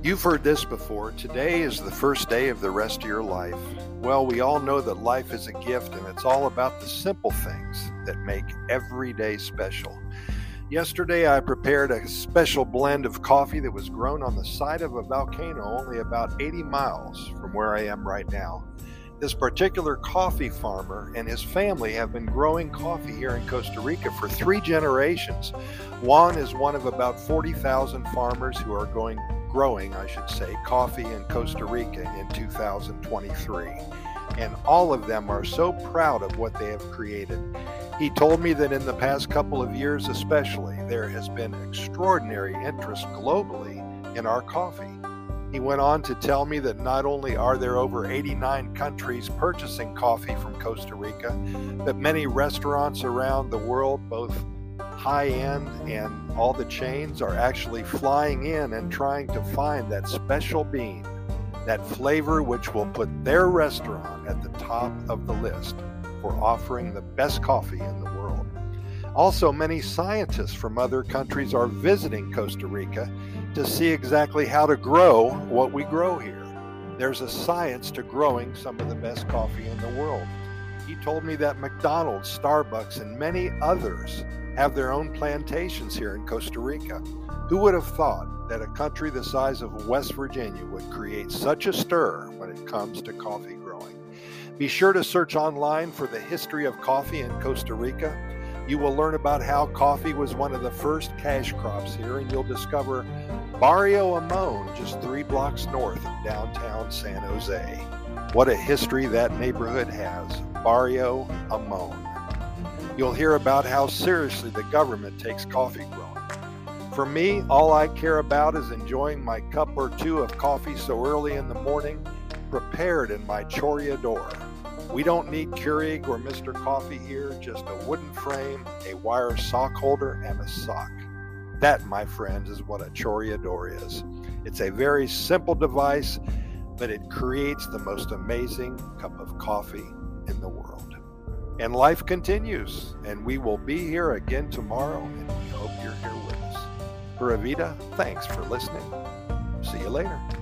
You've heard this before. Today is the first day of the rest of your life. Well, we all know that life is a gift, and it's all about the simple things that make every day special. Yesterday, I prepared a special blend of coffee that was grown on the side of a volcano only about 80 miles from where I am right now. This particular coffee farmer and his family have been growing coffee here in Costa Rica for 3 generations. Juan is one of about 40,000 farmers who are growing coffee in Costa Rica in 2023. And all of them are so proud of what they have created. He told me that in the past couple of years especially, there has been extraordinary interest globally in our coffee. He went on to tell me that not only are there over 89 countries purchasing coffee from Costa Rica, but many restaurants around the world, both high-end and all the chains, are actually flying in and trying to find that special bean, that flavor which will put their restaurant at the top of the list for offering the best coffee in the world. Also, many scientists from other countries are visiting Costa Rica to see exactly how to grow what we grow here. There's a science to growing some of the best coffee in the world. He told me that McDonald's, Starbucks, and many others have their own plantations here in Costa Rica. Who would have thought that a country the size of West Virginia would create such a stir when it comes to coffee growing? Be sure to search online for the history of coffee in Costa Rica. You will learn about how coffee was one of the first cash crops here, and you'll discover Barrio Amon, just 3 blocks north of downtown San Jose. What a history that neighborhood has, Barrio Amon. You'll hear about how seriously the government takes coffee growing. For me, all I care about is enjoying my cup or two of coffee so early in the morning, prepared in my Chorreador. We don't need Keurig or Mr. Coffee here, just a wooden frame, a wire sock holder, and a sock. That, my friends, is what a Chorreador is. It's a very simple device, but it creates the most amazing cup of coffee in the world. And life continues, and we will be here again tomorrow, and we hope you're here with us. Pura Vida, thanks for listening. See you later.